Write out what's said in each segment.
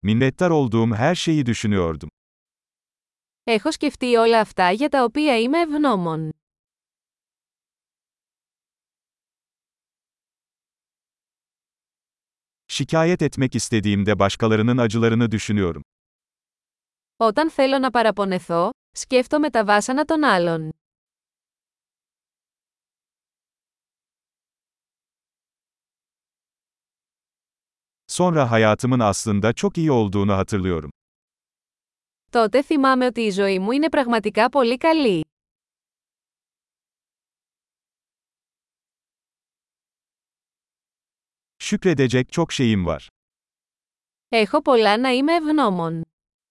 Minnettar olduğum her şeyi düşünüyordum. Έχω σκεφτεί όλα αυτά για τα οποία είμαι ευγνώμων. Şikayet etmek istediğimde başkalarının acılarını düşünüyorum. Όταν θέλω να παραπονεθώ, σκέφτομαι τα βάσανα των άλλων. Sonra hayatımın aslında çok iyi olduğunu hatırlıyorum. Τότε θυμάμαι ότι η ζωή μου είναι πραγματικά πολύ καλή. Şükredecek çok şeyim var. Έχω πολλά να είμαι ευγνώμων.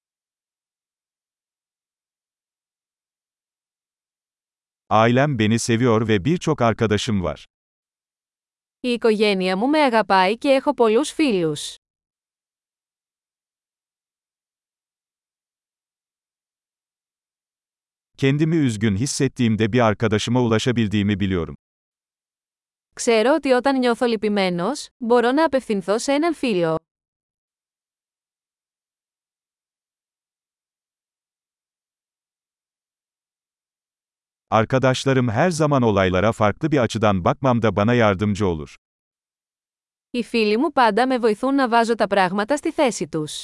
Ailem beni seviyor ve birçok arkadaşım var. Η οικογένεια μου με αγαπάει και έχω πολλούς φίλους. Kendimi üzgün hissettiğimde bir arkadaşıma ulaşabildiğimi biliyorum. Ξέρω ότι όταν νιώθω λυπημένος, μπορώ να απευθυνθώ σε έναν φίλο. Arkadaşlarım her zaman olaylara farklı bir açıdan bakmamda bana yardımcı olur. Οι φίλοι μου πάντα με βοηθούν να βάζω τα πράγματα στη θέση τους.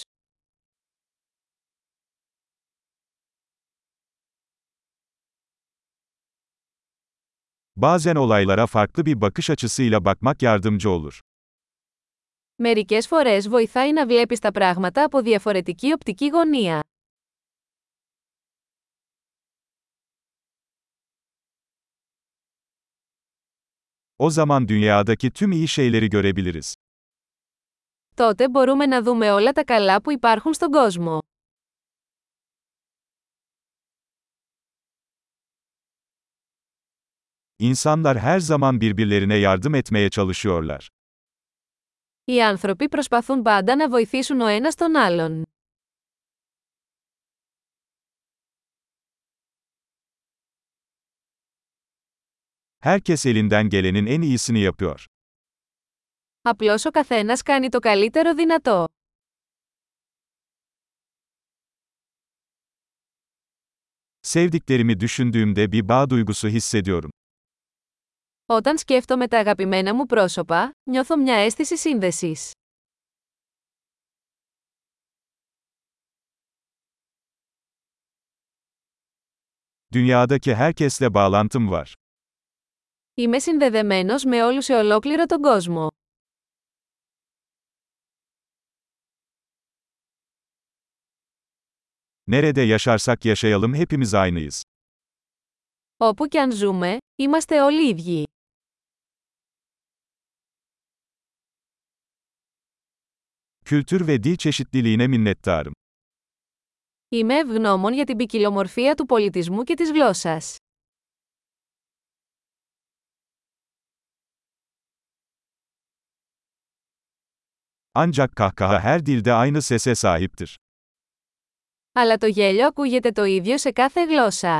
Bazen olaylara farklı bir bakış açısıyla bakmak yardımcı olur. Μερικές φορές βοηθάει να βλέπεις τα πράγματα από διαφορετική οπτική γωνία. O zaman dünyadaki tüm iyi şeyleri görebiliriz. Τότε μπορούμε να δούμε όλα τα καλά που υπάρχουν στον κόσμο. İnsanlar her zaman birbirlerine yardım etmeye çalışıyorlar. Οι άνθρωποι προσπαθούν πάντα να βοηθήσουν ο ένας τον άλλον. Herkes elinden gelenin en iyisini yapıyor. Απλώς ο καθένας κάνει το καλύτερο δυνατό. Sevdiklerimi düşündüğümde bir bağ duygusu hissediyorum. Όταν σκέφτομαι τα αγαπημένα μου πρόσωπα, νιώθω μια αίσθηση σύνδεσης. Dünyadaki herkesle bağlantım var. Είμαι συνδεδεμένος με όλους σε ολόκληρο τον κόσμο. Nerede yaşarsak yaşayalım hepimiz aynıyız. Όπου κι αν ζούμε, είμαστε όλοι ίδιοι. Kültür ve dil çeşitliliğine minnettarım. Είμαι ευγνώμων για την ποικιλομορφία του πολιτισμού και της γλώσσας. Ancak kahkaha her dilde aynı sese sahiptir. Αλλά το γέλιο ακούγεται το ίδιο σε κάθε γλώσσα.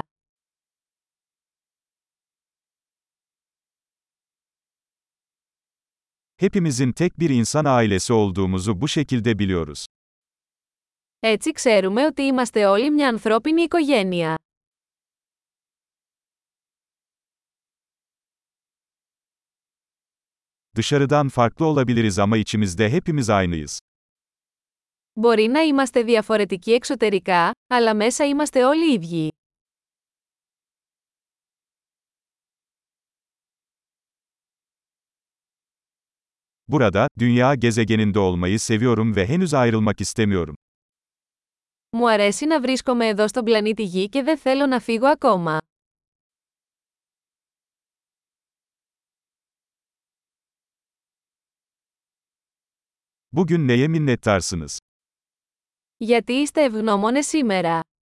Hepimizin tek bir insan ailesi olduğumuzu bu şekilde biliyoruz. Έτσι ξέρουμε ότι είμαστε όλοι μια ανθρώπινη οικογένεια. Dışarıdan farklı olabiliriz ama içimizde hepimiz aynıyız. Μπορεί να είμαστε διαφορετικοί εξωτερικά, αλλά μέσα είμαστε όλοι ίδιοι. Burada, dünya gezegeninde olmayı seviyorum ve henüz ayrılmak istemiyorum. Μου αρέσει να βρίσκομαι εδώ στον πλανήτη Γη και δεν θέλω να φύγω ακόμα. Bugün neye minnettarsınız? Γιατί είστε ευγνώμονες σήμερα?